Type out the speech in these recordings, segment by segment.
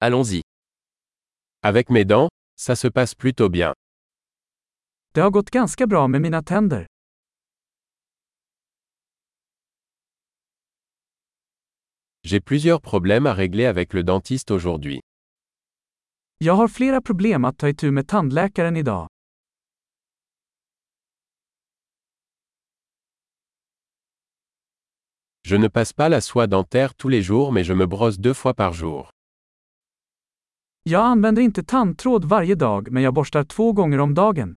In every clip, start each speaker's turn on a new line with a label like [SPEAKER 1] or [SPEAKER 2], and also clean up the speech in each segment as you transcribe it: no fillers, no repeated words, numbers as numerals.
[SPEAKER 1] Allons-y.
[SPEAKER 2] Avec mes dents, ça se passe plutôt bien.
[SPEAKER 3] Det har gått ganska bra med mina tänder.
[SPEAKER 2] J'ai plusieurs problèmes à régler avec le dentiste aujourd'hui.
[SPEAKER 3] Jag har flera problem att ta itu med tandläkaren idag.
[SPEAKER 2] Je ne passe pas la soie dentaire tous les jours mais je me brosse 2 fois par jour.
[SPEAKER 3] Jag använder inte tandtråd varje dag, men jag borstar 2 gånger om dagen.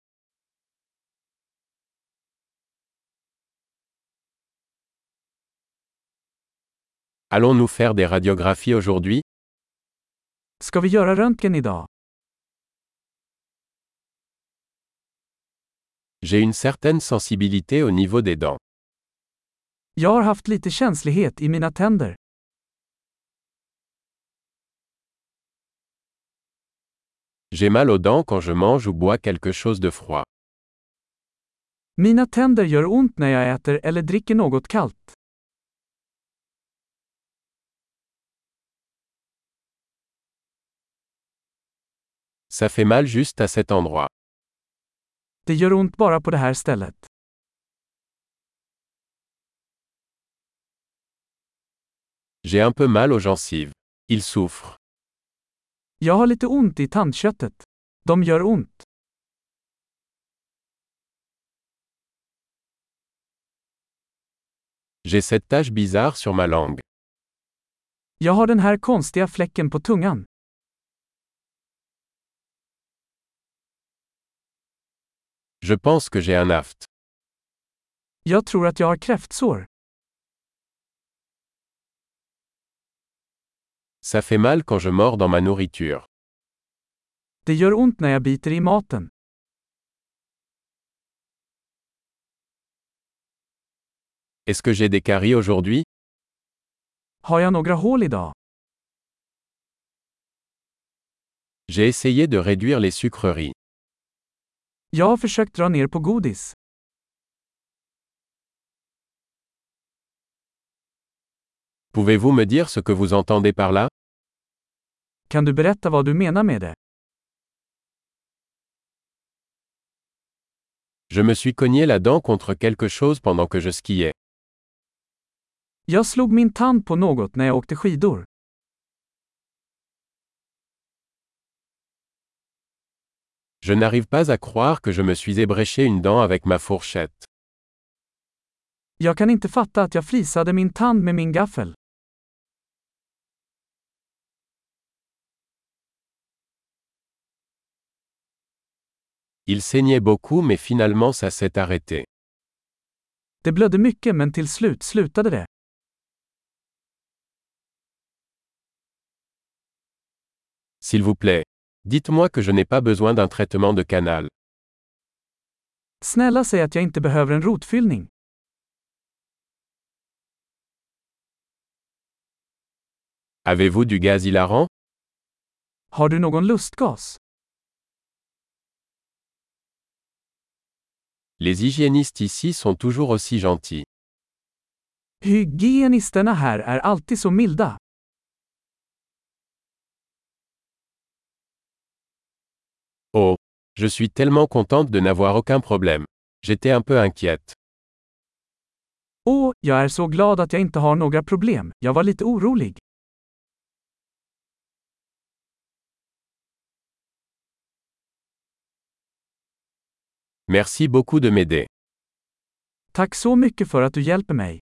[SPEAKER 2] Allons-nous faire des radiographies aujourd'hui?
[SPEAKER 3] Ska vi göra röntgen idag?
[SPEAKER 2] J'ai une certaine sensibilité au niveau des dents.
[SPEAKER 3] Jag har haft lite känslighet i mina tänder.
[SPEAKER 2] J'ai mal aux dents quand je mange ou bois quelque chose de froid.
[SPEAKER 3] Mina tänder gör ont när jag äter eller dricker något kallt.
[SPEAKER 2] Ça fait mal juste à cet endroit.
[SPEAKER 3] Det gör ont bara på det här stället.
[SPEAKER 2] J'ai un peu mal aux gencives. Ils souffrent.
[SPEAKER 3] Jag har lite ont i tandköttet. De gör ont.
[SPEAKER 2] J'ai cette tache bizarre sur ma langue.
[SPEAKER 3] Jag har den här konstiga fläcken på tungan.
[SPEAKER 2] Je pense que j'ai un aft.
[SPEAKER 3] Jag tror att jag har kräftsår.
[SPEAKER 2] Ça fait mal quand je mords dans ma nourriture.
[SPEAKER 3] Det gör ont när jag biter i maten.
[SPEAKER 2] Est-ce que j'ai des caries aujourd'hui?
[SPEAKER 3] Har jag några hål idag?
[SPEAKER 2] J'ai essayé de réduire les sucreries.
[SPEAKER 3] Jag har försökt dra ner på godis.
[SPEAKER 2] Pouvez-vous me dire ce que vous entendez par là?
[SPEAKER 3] Kan du berätta vad du menar med det?
[SPEAKER 2] Je me suis cogné la dent contre quelque chose pendant que je skiais.
[SPEAKER 3] Jag slog min tand på något när jag åkte skidor.
[SPEAKER 2] Je n'arrive pas à croire que je me suis ébréché une dent avec ma fourchette.
[SPEAKER 3] Jag kan inte fatta att jag flisade min tand med min gaffel.
[SPEAKER 2] Il saignait beaucoup mais finalement ça s'est arrêté.
[SPEAKER 3] Det blödde mycket, men till slut slutade det.
[SPEAKER 2] S'il vous plaît, dites-moi que je n'ai pas besoin d'un traitement de canal.
[SPEAKER 3] Snälla, säg att jag inte behöver en rotfyllning.
[SPEAKER 2] Avez-vous du gaz hilarant?
[SPEAKER 3] Har du någon lustgas?
[SPEAKER 2] Les hygiénistes ici sont toujours aussi gentils.
[SPEAKER 3] Hygienisterna här är alltid så milda.
[SPEAKER 2] Oh, je suis tellement contente de n'avoir aucun problème. J'étais un peu inquiète.
[SPEAKER 3] Jag är så glad att jag inte har några problem. Jag var lite orolig.
[SPEAKER 2] Merci beaucoup de m'aider.
[SPEAKER 3] Tack så mycket för att du hjälper mig.